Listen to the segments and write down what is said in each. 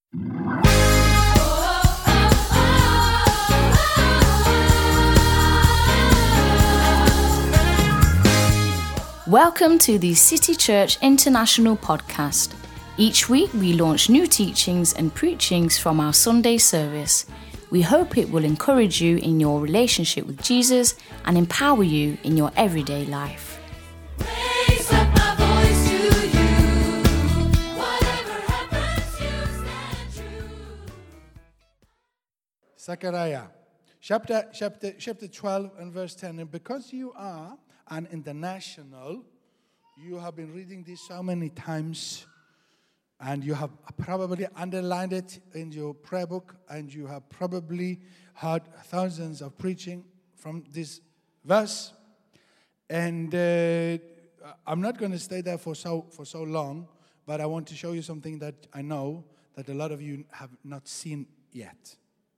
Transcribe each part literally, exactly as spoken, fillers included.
Welcome to the City Church International podcast. Each week we launch new teachings and preachings from our Sunday service. We hope it will encourage you in your relationship with Jesus and empower you in your everyday life. Raise up my voice to you. Whatever happens, you stand true. Zechariah, chapter, chapter, chapter twelve and verse ten. And because you are an international, you have been reading this so many times, and you have probably underlined it in your prayer book, and you have probably heard thousands of preaching from this verse. And uh, I'm not going to stay there for so for so long, but I want to show you something that I know that a lot of you have not seen yet.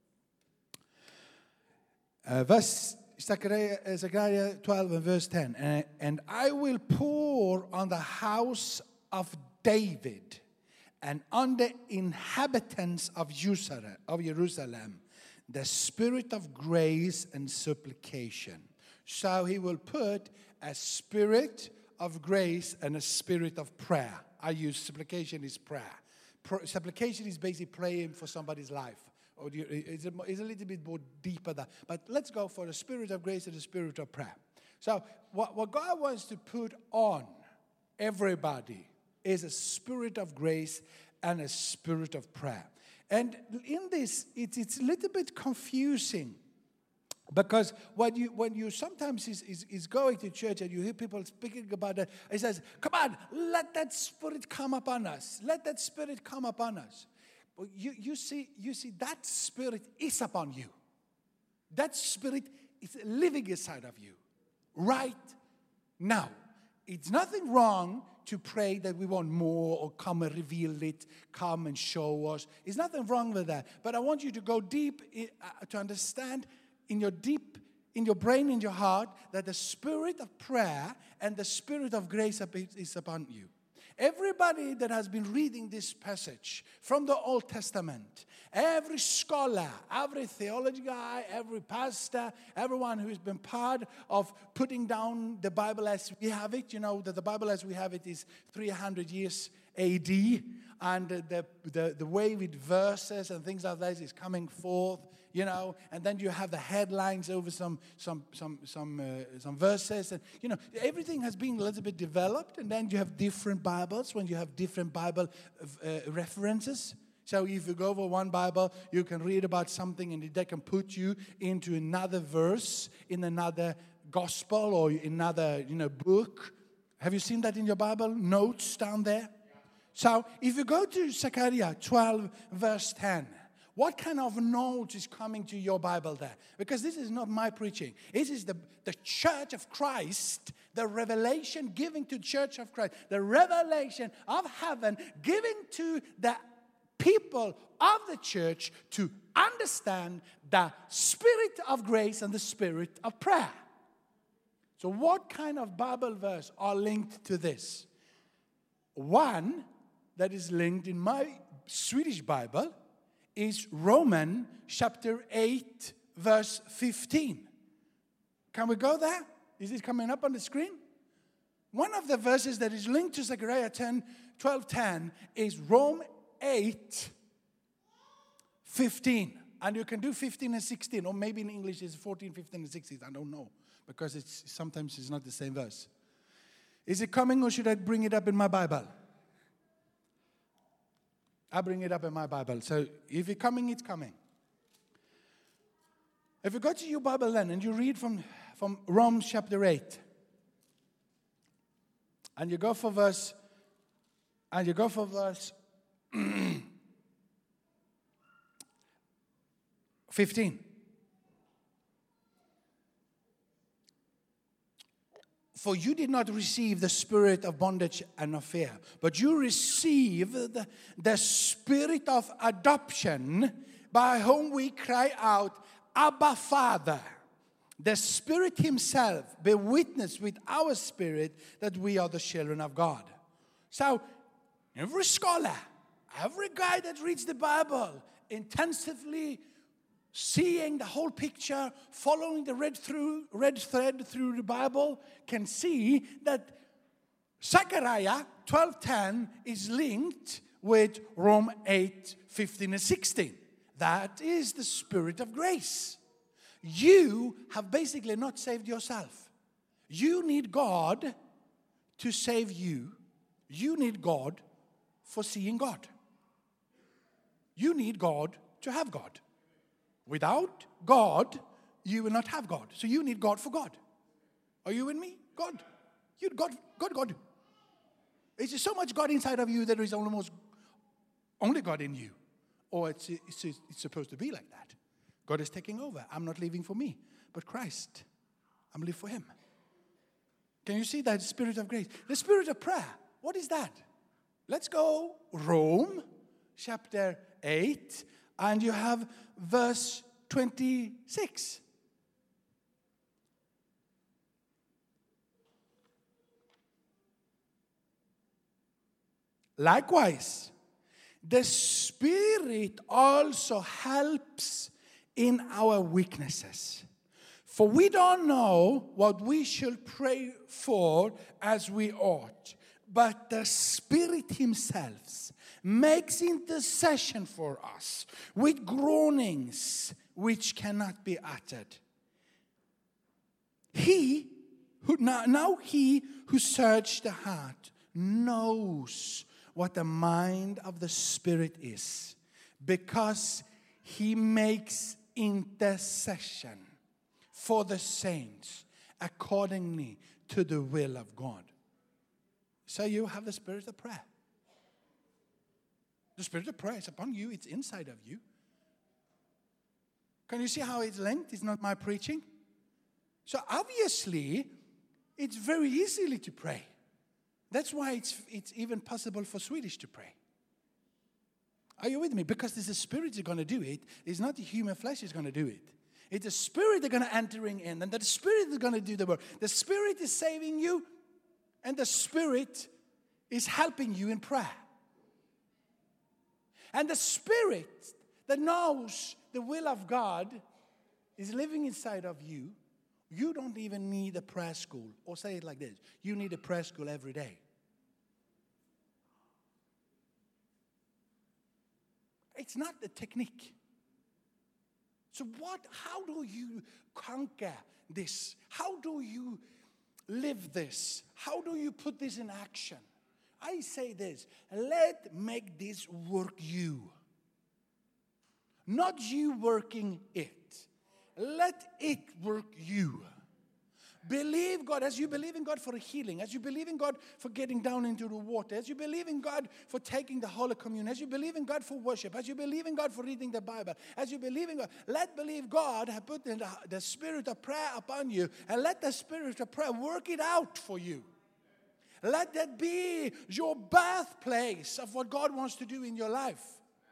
Uh, verse Zechariah, Zechariah twelve and verse ten. And, and I will pour on the house of David and on the inhabitants of Jerusalem, of Jerusalem the spirit of grace and supplication. So he will put a spirit of grace and a spirit of prayer. I use supplication is prayer. Pro, supplication is basically praying for somebody's life. Or do you, it's, a, it's a little bit more deeper than that. But let's go for the spirit of grace and the spirit of prayer. So what, what God wants to put on everybody is a spirit of grace and a spirit of prayer. And in this, it, it's a little bit confusing. Because when you when you sometimes is, is, is going to church and you hear people speaking about it, it says, come on, let that spirit come upon us. Let that spirit come upon us. But you, you see, you see, that spirit is upon you. That spirit is living inside of you right now. It's nothing wrong to pray that we want more or come and reveal it, come and show us. There's nothing wrong with that. But I want you to go deep in, uh, to understand in your deep, in your brain, in your heart, that the spirit of prayer and the spirit of grace is upon you. Everybody that has been reading this passage from the Old Testament, every scholar, every theology guy, every pastor, everyone who's been part of putting down the Bible as we have it, you know, that the Bible as we have it is three hundred years A D, and the, the, the way with verses and things like that is coming forth, you know, and then you have the headlines over some some some some uh, some verses, and you know everything has been a little bit developed, and then you have different Bibles when you have different Bible uh, references. So if you go over one Bible, you can read about something, and they can put you into another verse in another gospel or another you know book. Have you seen that in your Bible notes down there? So if you go to Zechariah twelve verse ten. What kind of note is coming to your Bible there? Because this is not my preaching. This is the, the church of Christ, the revelation given to the church of Christ, the revelation of heaven given to the people of the church to understand the spirit of grace and the spirit of prayer. So what kind of Bible verse are linked to this? One that is linked in my Swedish Bible is Romans chapter eight, verse fifteen. Can we go there? Is it coming up on the screen? One of the verses that is linked to Zechariah ten, twelve ten is Romans eight, fifteen. And you can do fifteen and sixteen, or maybe in English it's fourteen, fifteen, and sixteen. I don't know, because it's sometimes it's not the same verse. Is it coming, or should I bring it up in my Bible? I bring it up in my Bible. So if it's coming, it's coming. If you go to your Bible then and you read from, from Romans chapter eight, and you go for verse, and you go for verse fifteen. For you did not receive the spirit of bondage and of fear, but you received the, the spirit of adoption, by whom we cry out, Abba, Father. The Spirit Himself bear witness with our spirit that we are the children of God. So, every scholar, Every guy that reads the Bible intensively, seeing the whole picture, following the red through red thread through the Bible, can see that Zechariah twelve ten is linked with Rome eight fifteen and sixteen. That is the Spirit of grace. You have basically not saved yourself. You need God to save you. You need God for seeing God. You need God to have God. Without God, you will not have God. So you need God for God. Are you with me? God. You God, God, God. It's so much God inside of you that there is almost only God in you. Or it's, it's, it's supposed to be like that. God is taking over. I'm not living for me, but Christ. I'm living for Him. Can you see that Spirit of grace? The Spirit of prayer. What is that? Let's go Rome, chapter eight, and you have verse twenty-six. Likewise, the Spirit also helps in our weaknesses. For we don't know what we should pray for as we ought, but the Spirit Himself makes intercession for us with groanings which cannot be uttered. He who now, now He who searched the heart knows what the mind of the Spirit is, because He makes intercession for the saints accordingly to the will of God. So you have the Spirit of prayer. The Spirit of prayer is upon you. It's inside of you. Can you see how it's linked? It's not my preaching. So obviously, it's very easily to pray. That's why it's, it's even possible for Swedish to pray. Are you with me? Because it's the Spirit that's going to do it. It's not the human flesh that's going to do it. It's the Spirit that's going to entering in. And the Spirit is going to do the work. The Spirit is saving you. And the Spirit is helping you in prayer. And the Spirit that knows the will of God is living inside of you. You don't even need a prayer school. Or say it like this. You need a prayer school every day. It's not the technique. So what, how do you conquer this? How do you live this? How do you put this in action? I say this, let make this work you. Not you working it. Let it work you. Believe God as you believe in God for a healing, as you believe in God for getting down into the water, as you believe in God for taking the Holy Communion, as you believe in God for worship, as you believe in God for reading the Bible, as you believe in God, let believe God have put the, the Spirit of prayer upon you, and let the Spirit of prayer work it out for you. Let that be your birthplace of what God wants to do in your life.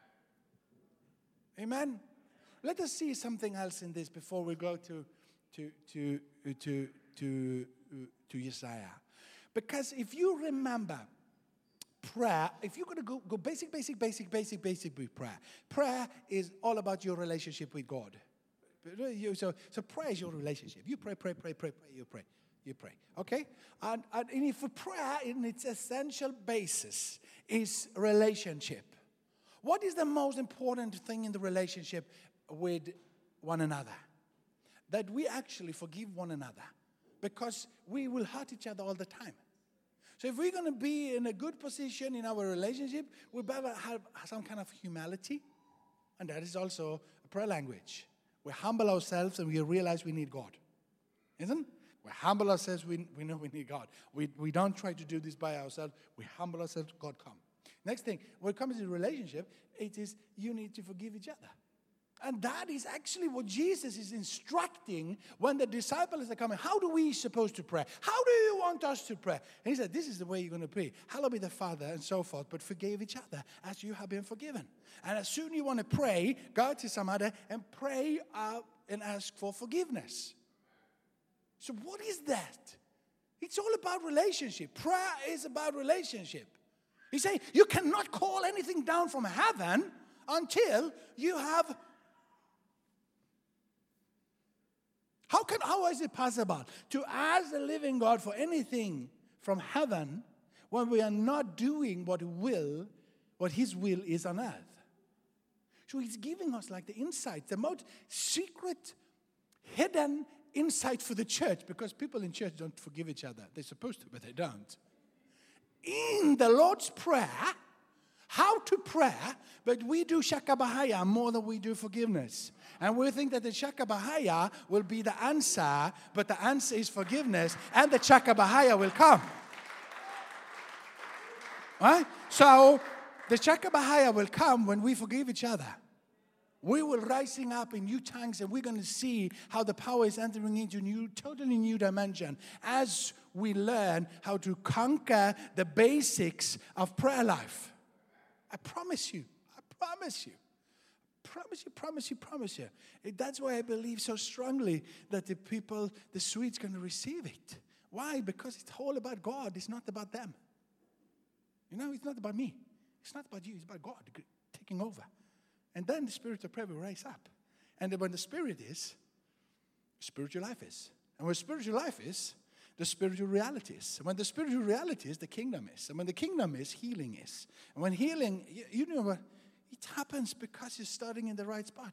Amen. Let us see something else in this before we go to to to to to to Isaiah. Because if you remember prayer, if you're going to go, go basic, basic, basic, basic, basic with prayer, prayer is all about your relationship with God. So, so prayer is your relationship. You pray, pray, pray, pray, pray, you pray. You pray, okay? And, and if prayer in its essential basis is relationship, what is the most important thing in the relationship with one another? That we actually forgive one another, because we will hurt each other all the time. So if we're going to be in a good position in our relationship, we better have some kind of humility, and that is also a prayer language. We humble ourselves and we realize we need God, isn't it? We humble ourselves, we, we know we need God. We, we don't try to do this by ourselves. We humble ourselves, God come. Next thing, when it comes to relationship, it is you need to forgive each other. And that is actually what Jesus is instructing when the disciples are coming. How do we supposed to pray? How do you want us to pray? And he said, this is the way you're going to pray. Hallowed be the Father and so forth, but forgive each other as you have been forgiven. And as soon as you want to pray, go to somebody and pray out and ask for forgiveness. So what is that? It's all about relationship. Prayer is about relationship. He's saying you cannot call anything down from heaven until you have. How can how is it possible to ask the living God for anything from heaven when we are not doing what will, what His will is on earth? So He's giving us like the insight, the most secret, hidden insight for the church, because people in church don't forgive each other. They're supposed to, but they don't. In the Lord's Prayer, how to pray, but we do Shakabahaya more than we do forgiveness. And we think that the Shakabahaya will be the answer, but the answer is forgiveness, and the Shakabahaya will come. Right? So, the Shakabahaya will come when we forgive each other. We will rising up in new tongues, and we're going to see how the power is entering into a new, totally new dimension as we learn how to conquer the basics of prayer life. I promise you. I promise you. Promise you, promise you, promise you. That's why I believe so strongly that the people, the Swedes, going to receive it. Why? Because it's all about God. It's not about them. You know, it's not about me. It's not about you. It's about God taking over. And then the spirit of prayer will rise up. And when the spirit is, spiritual life is. And when spiritual life is, the spiritual reality is. And when the spiritual reality is, the kingdom is. And when the kingdom is, healing is. And when healing, you, you know what? It happens because you're starting in the right spot.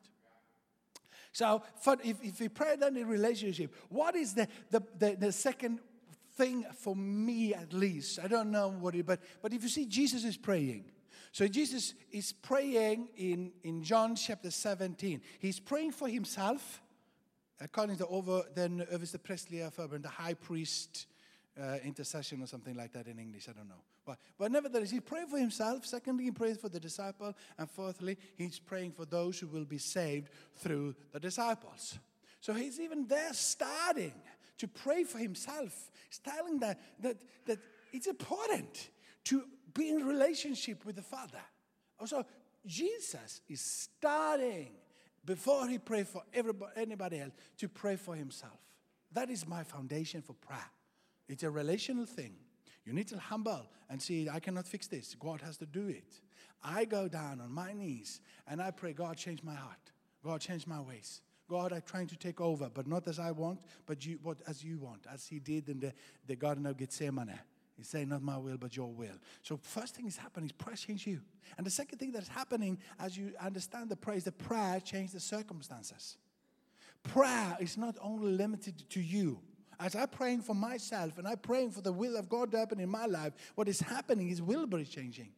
So for, if, if we pray then in relationship, what is the, the, the, the second thing for me at least? I don't know what it, but, but if you see Jesus is praying. So Jesus is praying in, in John chapter seventeen. He's praying for himself, according to over then översteprästliga förbund, the high priest uh, intercession or something like that in English. I don't know. But, but nevertheless, he prayed for himself. Secondly, he prays for the disciple. And fourthly, he's praying for those who will be saved through the disciples. So he's even there starting to pray for himself. He's telling that, that, that it's important to be in relationship with the Father. Also, Jesus is starting, before he prays for everybody, anybody else, to pray for himself. That is my foundation for prayer. It's a relational thing. You need to humble and see, I cannot fix this. God has to do it. I go down on my knees and I pray, God, change my heart. God, change my ways. God, I'm trying to take over, but not as I want, but you, what as you want, as he did in the, the Garden of Gethsemane. He's saying, not my will, but your will. So first thing is happening is prayer change you. And the second thing that's happening as you understand the prayer is the prayer change the circumstances. Prayer is not only limited to you. As I'm praying for myself and I'm praying for the will of God to happen in my life, what is happening is Wilbur is changing.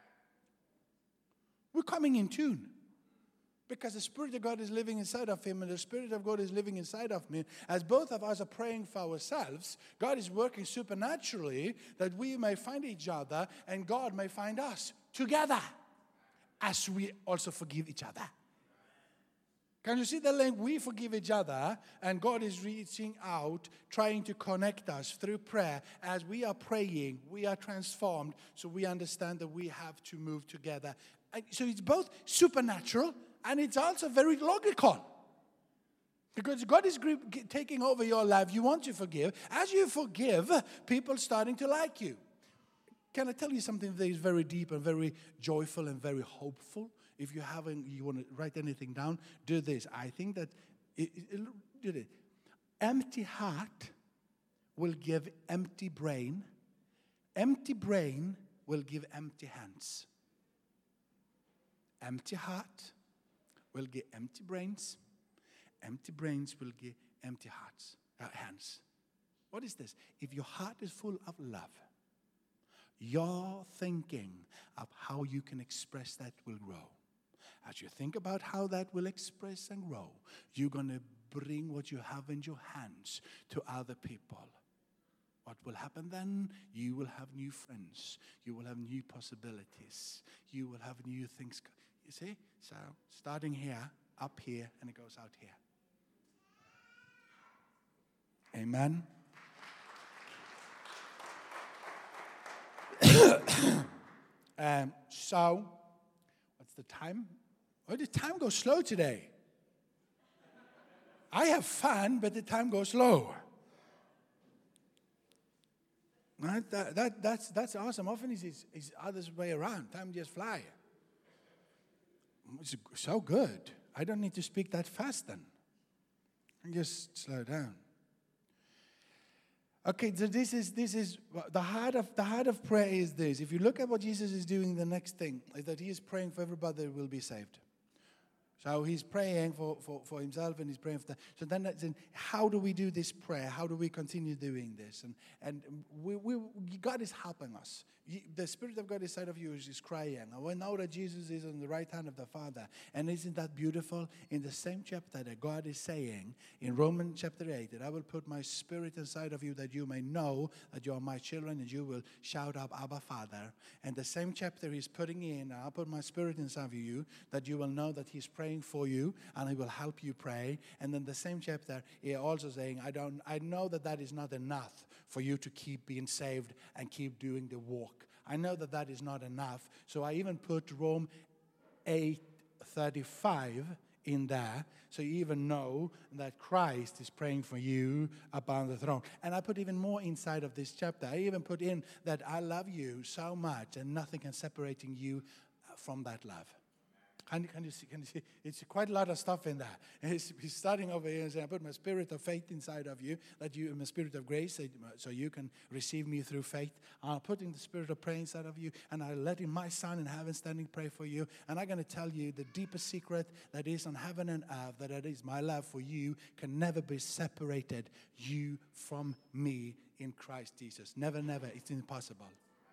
We're coming in tune. Because the Spirit of God is living inside of him and the Spirit of God is living inside of me. As both of us are praying for ourselves, God is working supernaturally that we may find each other and God may find us together as we also forgive each other. Can you see the link? We forgive each other and God is reaching out, trying to connect us through prayer. As we are praying, we are transformed, so we understand that we have to move together. And so it's both supernatural and it's also very logical. Because God is taking over your life. You want to forgive. As you forgive, people starting to like you. Can I tell you something that is very deep and very joyful and very hopeful? If you haven't, you want to write anything down, do this. I think that it, it, it, it, empty heart will give empty brain. Empty brain will give empty hands. Empty heart will give empty brains. Empty brains will give empty hearts, uh, hands. What is this? If your heart is full of love, your thinking of how you can express that will grow. As you think about how that will express and grow, you're going to bring what you have in your hands to other people. What will happen then? You will have new friends. You will have new possibilities. You will have new things. You see? So, starting here, up here, and it goes out here. Amen. um, so, what's the time? Oh, the time goes slow today. I have fun, but the time goes slow. Right? That, that, that's, that's awesome. Often it's, it's, it's other way around. Time just fly. It's so good. I don't need to speak that fast then. And just slow down. Okay, so this is this is the heart of the heart of prayer is this. If you look at what Jesus is doing, the next thing is that he is praying for everybody that will be saved. So he's praying for, for, for himself and he's praying for that. So then, that's in, how do we do this prayer? How do we continue doing this? And and we, we God is helping us. The Spirit of God inside of you is, is crying. And we know that Jesus is on the right hand of the Father. And isn't that beautiful? In the same chapter that God is saying in Romans chapter eight, that I will put my Spirit inside of you that you may know that you are my children and you will shout up, Abba, Father. And the same chapter he's putting in, I'll put my Spirit inside of you that you will know that he's praying for you and he will help you pray. And then the same chapter he also saying, I don't, I know that that is not enough for you to keep being saved and keep doing the walk. I know that that is not enough. So I even put Rome eight thirty-five in there. So you even know that Christ is praying for you upon the throne. And I put even more inside of this chapter. I even put in that I love you so much and nothing can separate you from that love. Can, can, you see, can you see? It's quite a lot of stuff in there. He's, he's starting over here and saying, I put my spirit of faith inside of you, that you, my spirit of grace, so you can receive me through faith. I'm putting the spirit of prayer inside of you, and I'm letting my Son in heaven standing pray for you. And I'm going to tell you the deepest secret that is on heaven and earth, that it is my love for you, can never be separated, you from me in Christ Jesus. Never, never. It's impossible.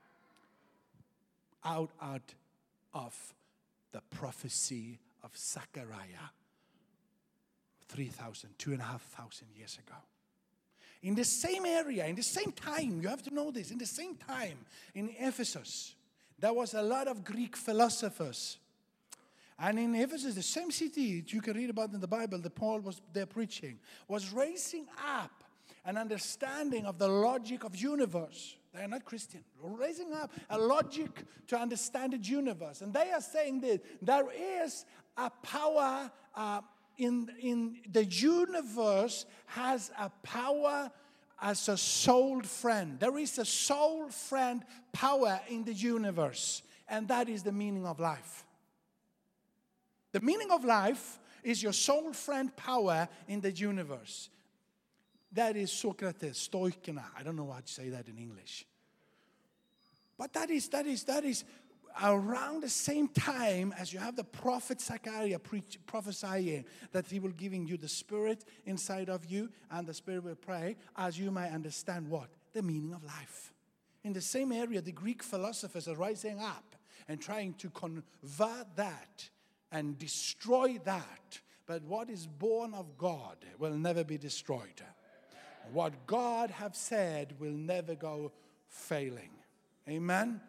Out, out of the prophecy of Zechariah three thousand, two and a half thousand years ago. In the same area, in the same time, you have to know this, in the same time, in Ephesus, there was a lot of Greek philosophers. And in Ephesus, the same city you can read about in the Bible that Paul was there preaching, was raising up an understanding of the logic of universe. They are not Christian. Raising up a logic to understand the universe. And they are saying that there is a power uh, in, in the universe has a power as a soul friend. There is a soul friend power in the universe. And that is the meaning of life. The meaning of life is your soul friend power in the universe. That is Socrates, Stoikena. I don't know how to say that in English. But that is, that is, that is around the same time as you have the prophet Zechariah preach, prophesying that he will giving you the Spirit inside of you, and the Spirit will pray as you may understand what? The meaning of life. In the same area, the Greek philosophers are rising up and trying to convert that and destroy that. But what is born of God will never be destroyed. What God have said will never go failing. Amen?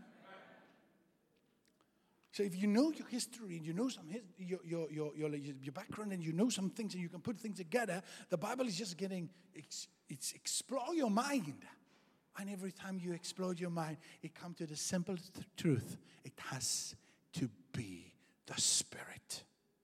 So if you know your history and you know some his, your, your, your, your, your background and you know some things and you can put things together, the Bible is just getting, it's, it's explore your mind. And every time you explode your mind, it comes to the simple th- truth. It has to be the Spirit.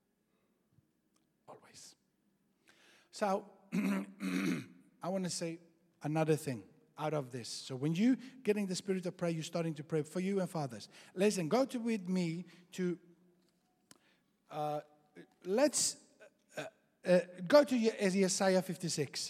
Always. So, I want to say another thing out of this. So when you getting the spirit of prayer, you're starting to pray for you and fathers. Listen, go to with me to, uh, let's uh, uh, go to Isaiah fifty-six.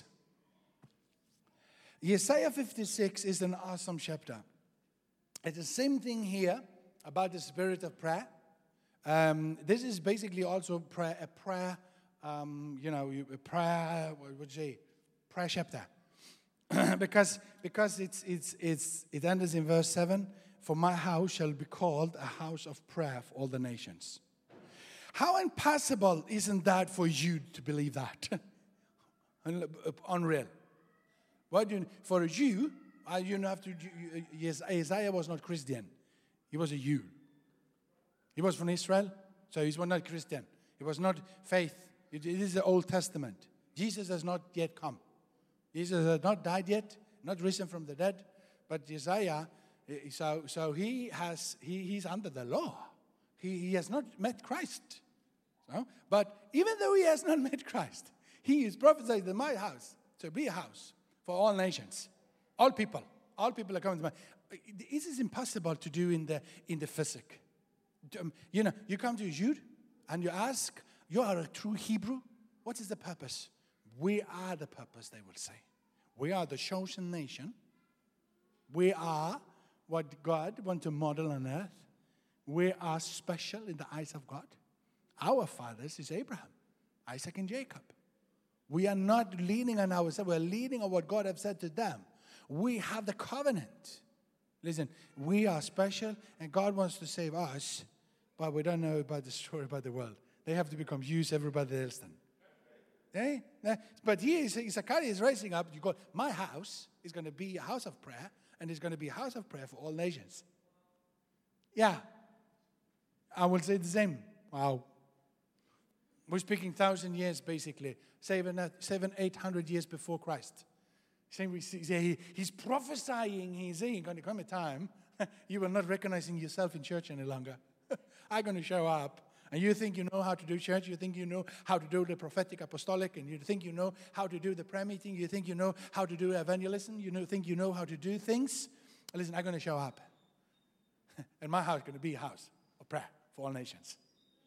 Isaiah fifty-six is an awesome chapter. It's the same thing here about the spirit of prayer. Um, this is basically also prayer, a prayer, um, you know, a prayer, what would you say? Prayer chapter. because because it's it's it's it ends in verse seven. For my house shall be called a house of prayer for all the nations. How impossible isn't that for you to believe that? Unreal. What you, for a Jew, uh, you have to. You, yes, Isaiah was not Christian. He was a Jew. He was from Israel, so he was not Christian. He was not faith. It, it is the Old Testament. Jesus has not yet come. Jesus has not died yet, not risen from the dead. But Isaiah, so so he has he, he's under the law. He, he has not met Christ. So, but even though he has not met Christ, he is prophesied in my house to be a house for all nations, all people, All people are coming to mind. This is impossible to do in the in the physic. Um, You know, you come to a Jude and you ask, you are a true Hebrew? What is the purpose? We are the purpose, they will say. We are the chosen nation. We are what God wants to model on earth. We are special in the eyes of God. Our fathers is Abraham, Isaac, and Jacob. We are not leaning on ourselves. We are leaning on what God has said to them. We have the covenant. Listen, we are special, and God wants to save us, but we don't know about the story about the world. They have to become used everybody else then. Eh? Eh? But here, Zechariah is raising up. You go, my house is going to be a house of prayer, and it's going to be a house of prayer for all nations. Yeah. I will say the same. Wow. We're speaking thousand years, basically. Seven, seven, eight hundred years before Christ. Same we see, he, he's prophesying, he's saying, going to come a time, you will not recognizing yourself in church any longer. I'm going to show up. And you think you know how to do church, you think you know how to do the prophetic apostolic, and you think you know how to do the prayer meeting, you think you know how to do evangelism, you know, think you know how to do things. Listen, I'm going to show up. And my house is going to be a house of prayer for all nations.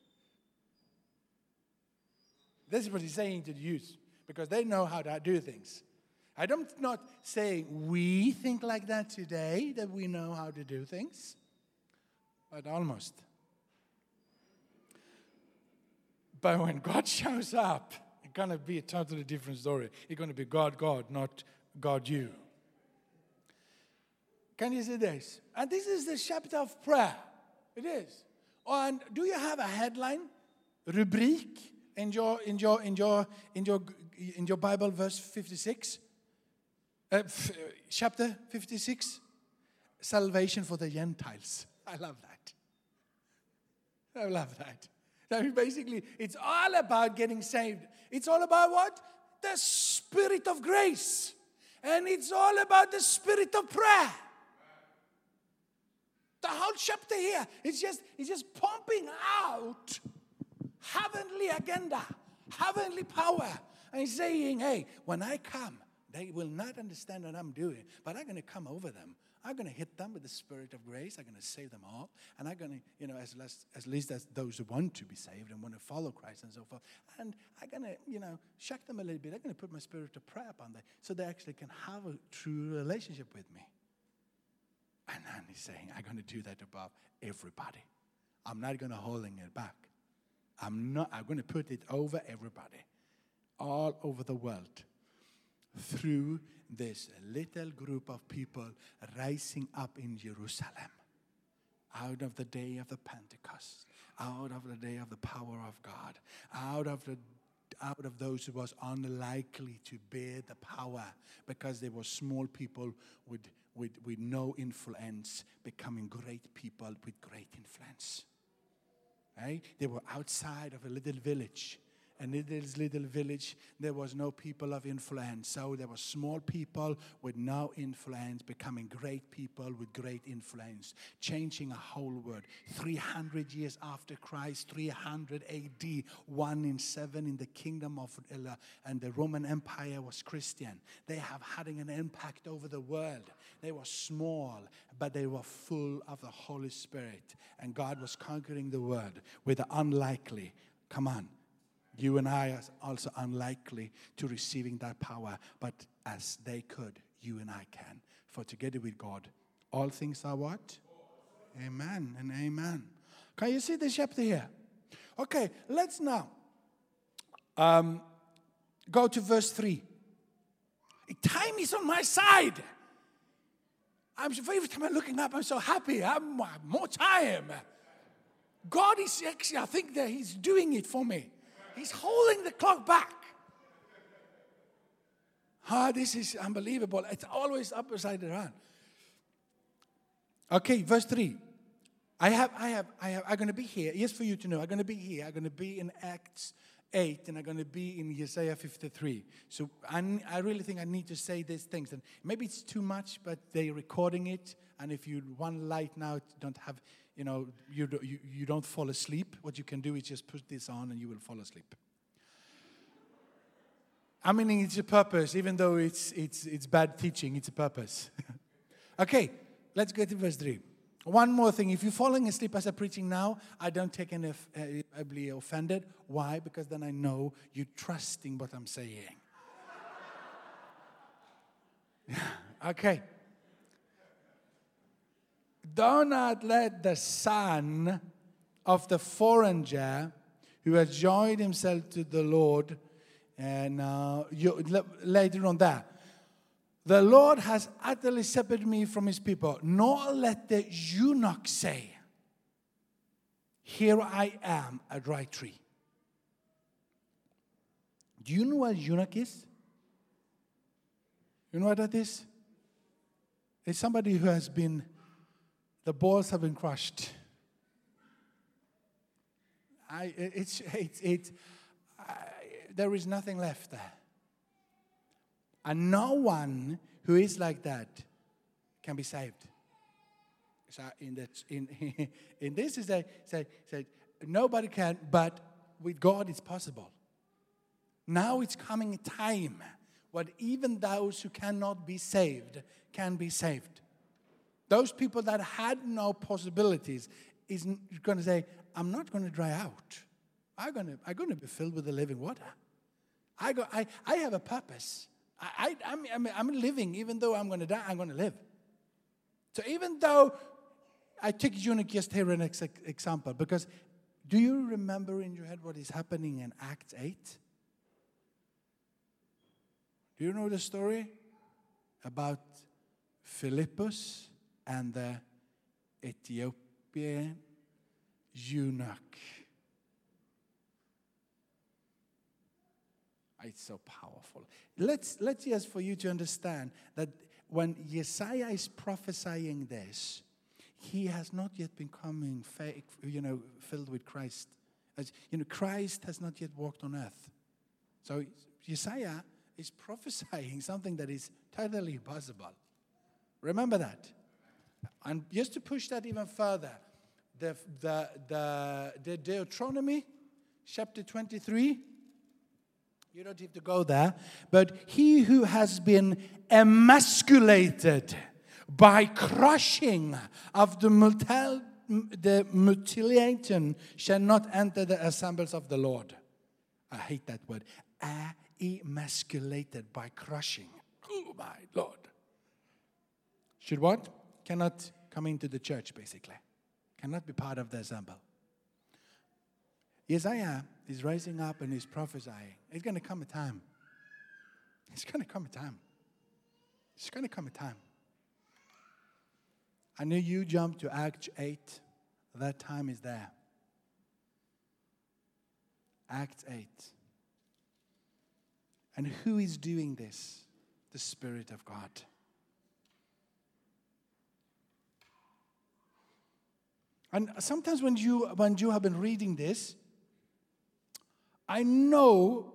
This is what he's saying to the youth, because they know how to do things. I'm not saying we think like that today, that we know how to do things, but almost. But when God shows up, it's going to be a totally different story. It's going to be God, God, not God, you. Can you see this? And this is the chapter of prayer. It is. And do you have a headline, rubrik, in your, in your, in your, in your, in your Bible, verse fifty-six? Uh, f- chapter fifty-six? Salvation for the Gentiles. I love that. I love that. I mean, basically, it's all about getting saved. It's all about what? The Spirit of grace. And it's all about the Spirit of prayer. The whole chapter here, it's just, it's just pumping out heavenly agenda, heavenly power. And he's saying, hey, when I come, they will not understand what I'm doing, but I'm going to come over them. I'm going to hit them with the Spirit of grace. I'm going to save them all. And I'm going to, you know, as, less, as least as those who want to be saved and want to follow Christ and so forth. And I'm going to, you know, shock them a little bit. I'm going to put my Spirit of prayer upon them so they actually can have a true relationship with me. And then he's saying, I'm going to do that above everybody. I'm not going to holding it back. I'm not, I'm going to put it over everybody, all over the world, through this little group of people rising up in Jerusalem, out of the day of the Pentecost, out of the day of the power of God, out of the out of those who was unlikely to bear the power because they were small people with, with, with no influence, becoming great people with great influence. Right? They were outside of a little village. And in this little village, there was no people of influence. So there were small people with no influence becoming great people with great influence, changing a whole world. three hundred years after Christ, three hundred A D, one in seven in the kingdom of, uh, and the Roman Empire was Christian. They have had an impact over the world. They were small, but they were full of the Holy Spirit. And God was conquering the world with the unlikely. Come on. You and I are also unlikely to receiving that power, but as they could, you and I can. For together with God, all things are what? Amen and amen. Can you see the chapter here? Okay, let's now um, go to verse three. Time is on my side. I'm every time I'm looking up, I'm so happy. I'm more time. God is actually, I think that He's doing it for me. He's holding the clock back. Ah, this is unbelievable. It's always upside down. Okay, verse three. I have, I have, I have, I'm going to be here. Yes, for you to know, I'm going to be here. I'm going to be in Acts eight, and I'm going to be in Isaiah fifty-three. So I, I really think I need to say these things. And maybe it's too much, but they're recording it. And if you one light now, don't have, you know, you, you, you don't fall asleep. What you can do is just put this on and you will fall asleep. I mean, it's a purpose. Even though it's it's it's bad teaching, it's a purpose. Okay, let's go to verse three. One more thing. If you're falling asleep as I'm preaching now, I don't take any off- uh, be offended. Why? Because then I know you're trusting what I'm saying. Okay. Do not let the son of the foreigner who has joined himself to the Lord, and uh, you, later on that, the Lord has utterly separated me from his people. Nor let the eunuch say, here I am, a dry tree. Do you know what eunuch is? You know what that is? It's somebody who has been, the balls have been crushed. I, it's, it's, it's, I, there is nothing left there. And no one who is like that can be saved. So in that, in, in this is that say, say nobody can, but with God it's possible. Now it's coming a time when even those who cannot be saved can be saved. Those people that had no possibilities is going to say, I'm not going to dry out. I'm going to, I'm going to be filled with the living water. I, go, I, I have a purpose. I, I, I'm, I'm, I'm living, even though I'm going to die, I'm going to live. So even though I take eunuch just here an ex- example, because do you remember in your head what is happening in Acts eight? Do you know the story about Philippus and the Ethiopian eunuch? It's so powerful. Let's, let's just for you to understand that when Isaiah is prophesying this, he has not yet been coming, fake, you know, filled with Christ. As, you know, Christ has not yet walked on earth. So Isaiah is prophesying something that is totally impossible. Remember that. And just to push that even further, the, the, the, the Deuteronomy, chapter twenty-three, you don't have to go there. But he who has been emasculated by crushing of the, mutil, the mutilation shall not enter the assemblies of the Lord. I hate that word. Emasculated by crushing. Oh my Lord. Should what? Cannot come into the church, basically. Cannot be part of the assembly. Isaiah is rising up and he's prophesying. It's going to come a time. It's going to come a time. It's going to come a time. I know you jump to Acts eight. That time is there. Acts eight. And who is doing this? The Spirit of God. And sometimes when you when you have been reading this, I know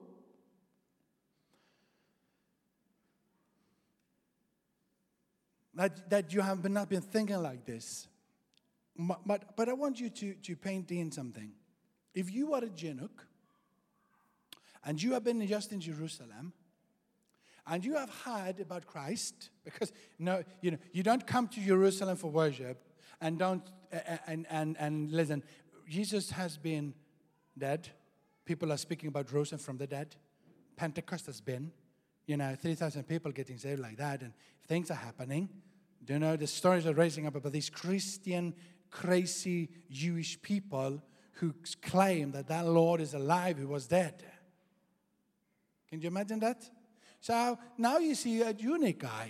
that, that you have been, not been thinking like this. But, but, but I want you to, to paint in something. If you are a eunuch, and you have been just in Jerusalem, and you have heard about Christ, because no, you know, you don't come to Jerusalem for worship, and don't uh, and and and listen. Jesus has been dead. People are speaking about Jerusalem from the dead. Pentecost has been, you know, three thousand people getting saved like that, and things are happening. You know, the stories are raising up about these Christian, crazy Jewish people who claim that that Lord is alive who was dead. Can you imagine that? So now you see a eunuch guy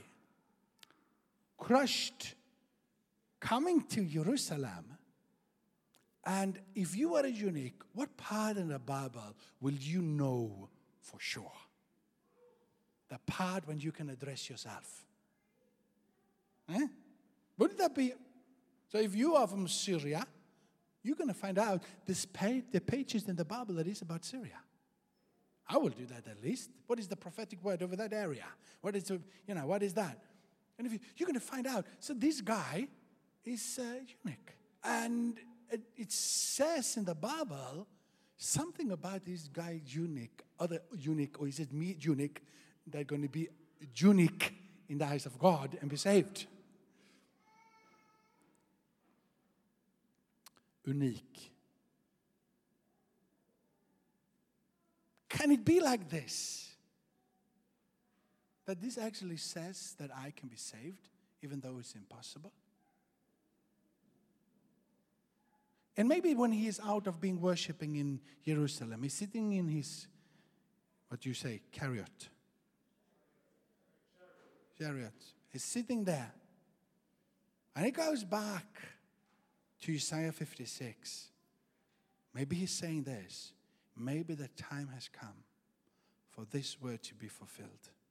crushed coming to Jerusalem. And if you are a eunuch, what part in the Bible will you know for sure? The part when you can address yourself. Eh? Wouldn't that be? So if you are from Syria, you're going to find out this page, the pages in the Bible that is about Syria. I will do that at least. What is the prophetic word over that area? What is the, you know, what is that? And if you, you're going to find out. So this guy is a eunuch. And it, it says in the Bible something about this guy eunuch, other eunuch, or is it me eunuch, they're going to be eunuch in the eyes of God and be saved. unik. Can it be like this? That this actually says that I can be saved, even though it's impossible? And maybe when he is out of being worshiping in Jerusalem, he's sitting in his, what do you say, chariot. Chariot. He's sitting there. And he goes back to Isaiah fifty-six. Maybe he's saying this. Maybe the time has come for this word to be fulfilled.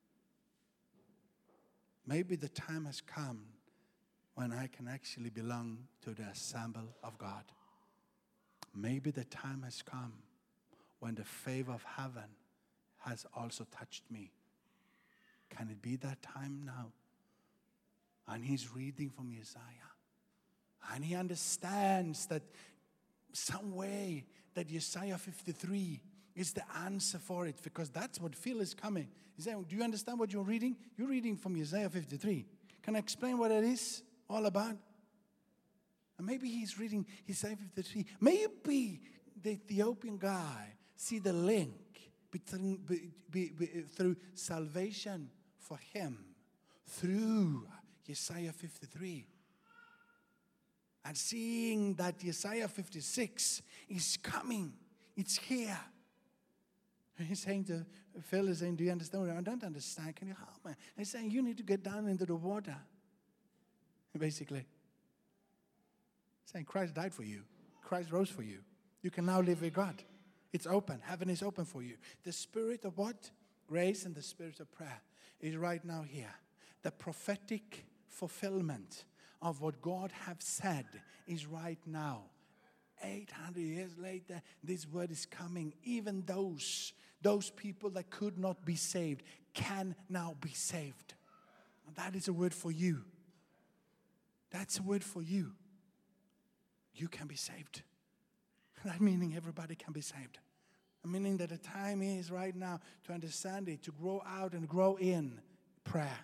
Maybe the time has come when I can actually belong to the assembly of God. Maybe the time has come when the favor of heaven has also touched me. Can it be that time now? And he's reading from Isaiah. And he understands that some way that Isaiah fifty-three is the answer for it, because that's what Phil is coming. He's saying, do you understand what you're reading? You're reading from Isaiah fifty-three. Can I explain what it is all about? And maybe he's reading Isaiah fifty-three. Maybe the Ethiopian guy see the link between, be, be, be, through salvation for him through Isaiah fifty-three. And seeing that Isaiah fifty-six is coming. It's here. And he's saying to Phil, is saying, do you understand? I don't understand. Can you help me? And he's saying, you need to get down into the water. Basically. Saying Christ died for you. Christ rose for you. You can now live with God. It's open. Heaven is open for you. The spirit of what? Grace and the spirit of prayer is right now here. The prophetic fulfillment of what God have said is right now. eight hundred years later, this word is coming. Even those, those people that could not be saved can now be saved. And that is a word for you. That's a word for you. You can be saved. That meaning everybody can be saved. Meaning that the time is right now to understand it, to grow out and grow in prayer.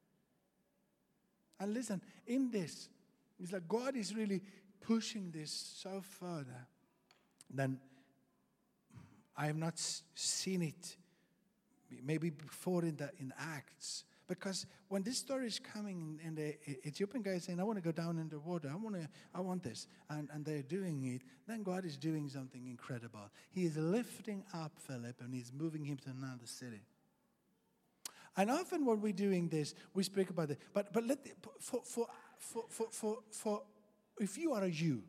And listen, in this, it's like God is really pushing this so further than I have not seen it maybe before in the in Acts. Because when this story is coming and the Ethiopian guy is saying, I want to go down in the water, I want to, I want this, and, and they're doing it, then God is doing something incredible. He is lifting up Philip and he's moving him to another city. And often when we're doing this, we speak about it. But but let for for for for for, for if you are a Jew,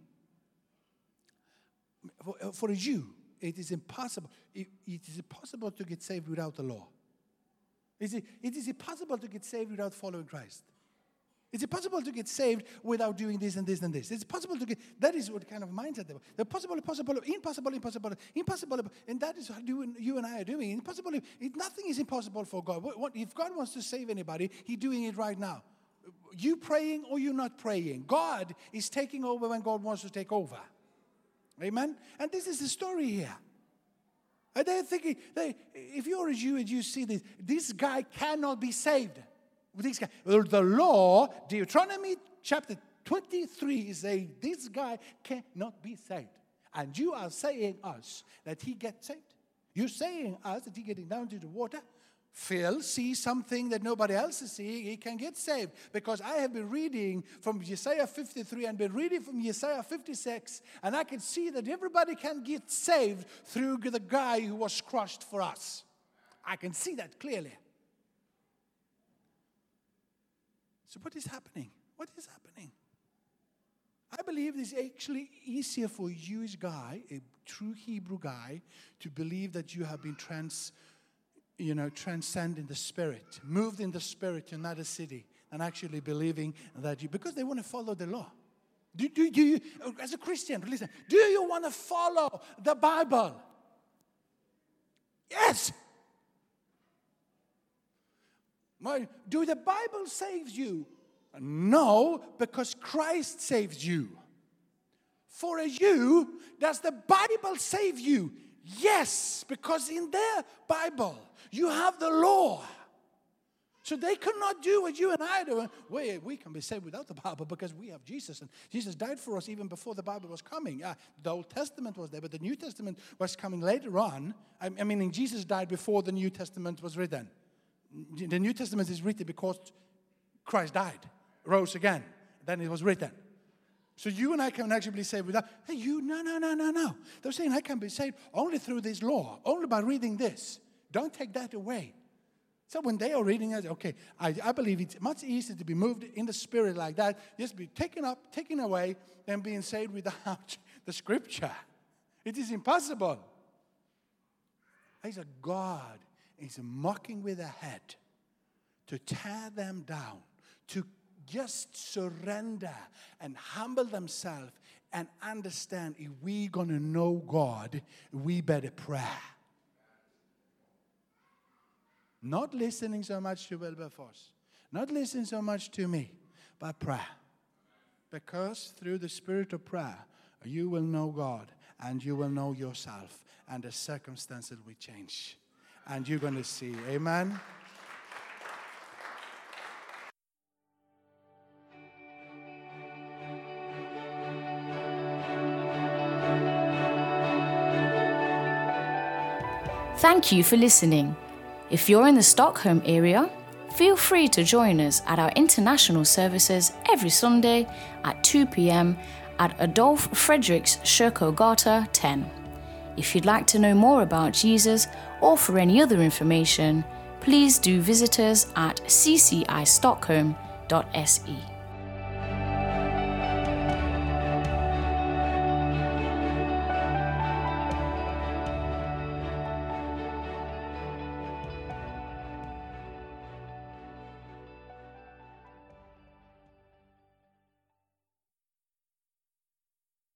for, for a Jew, it is impossible. It, it is impossible to get saved without the law. Is it, it is impossible to get saved without following Christ. It's impossible to get saved without doing this and this and this. It's possible to get, that is what kind of mindset they were. The possible, possible, impossible, impossible, impossible, and that is what you and, you and I are doing. Impossible, it, nothing is impossible for God. What, what, if God wants to save anybody, He's doing it right now. You praying or you not praying, God is taking over when God wants to take over. Amen? And this is the story here. And they're thinking, they, if you're a Jew and you see this, this guy cannot be saved. This guy, the law, Deuteronomy chapter twenty-three is saying this guy cannot be saved. And you are saying us that he gets saved. You're saying us that he getting down to the water. Phil sees something that nobody else is seeing. He can get saved. Because I have been reading from Isaiah fifty-three and been reading from Isaiah fifty-six. And I can see that everybody can get saved through the guy who was crushed for us. I can see that clearly. So what is happening? What is happening? I believe it's actually easier for a Jewish guy, a true Hebrew guy, to believe that you have been trans, you know, transcend in the spirit, moved in the spirit to another city, than actually believing that you, because they want to follow the law. Do, do, do you, as a Christian, listen, do you want to follow the Bible? Yes. Do the Bible save you? No, because Christ saves you. For a Jew, does the Bible save you? Yes, because in their Bible, you have the law. So they could not do what you and I do. We, we can be saved without the Bible because we have Jesus. And Jesus died for us even before the Bible was coming. Uh, the Old Testament was there, but the New Testament was coming later on. I, I mean, Jesus died before the New Testament was written. The New Testament is written because Christ died, rose again. Then it was written. So you and I can actually be saved without, hey, you, no, no, no, no, no. They're saying I can be saved only through this law, only by reading this. Don't take that away. So when they are reading it, okay, I, I believe it's much easier to be moved in the Spirit like that, just be taken up, taken away, than being saved without the Scripture. It is impossible. He's a God. He's mocking with a head to tear them down, to just surrender and humble themselves and understand if we're going to know God, we better pray. Not listening so much to Wilberforce. Not listening so much to me, but prayer. Because through the spirit of prayer, you will know God and you will know yourself. And the circumstances will change. And you're going to see. Amen? Thank you for listening. If you're in the Stockholm area, feel free to join us at our international services every Sunday at two p.m. at Adolf Fredriks Kyrkogata ten. If you'd like to know more about Jesus or for any other information, please do visit us at c c i stockholm dot s e.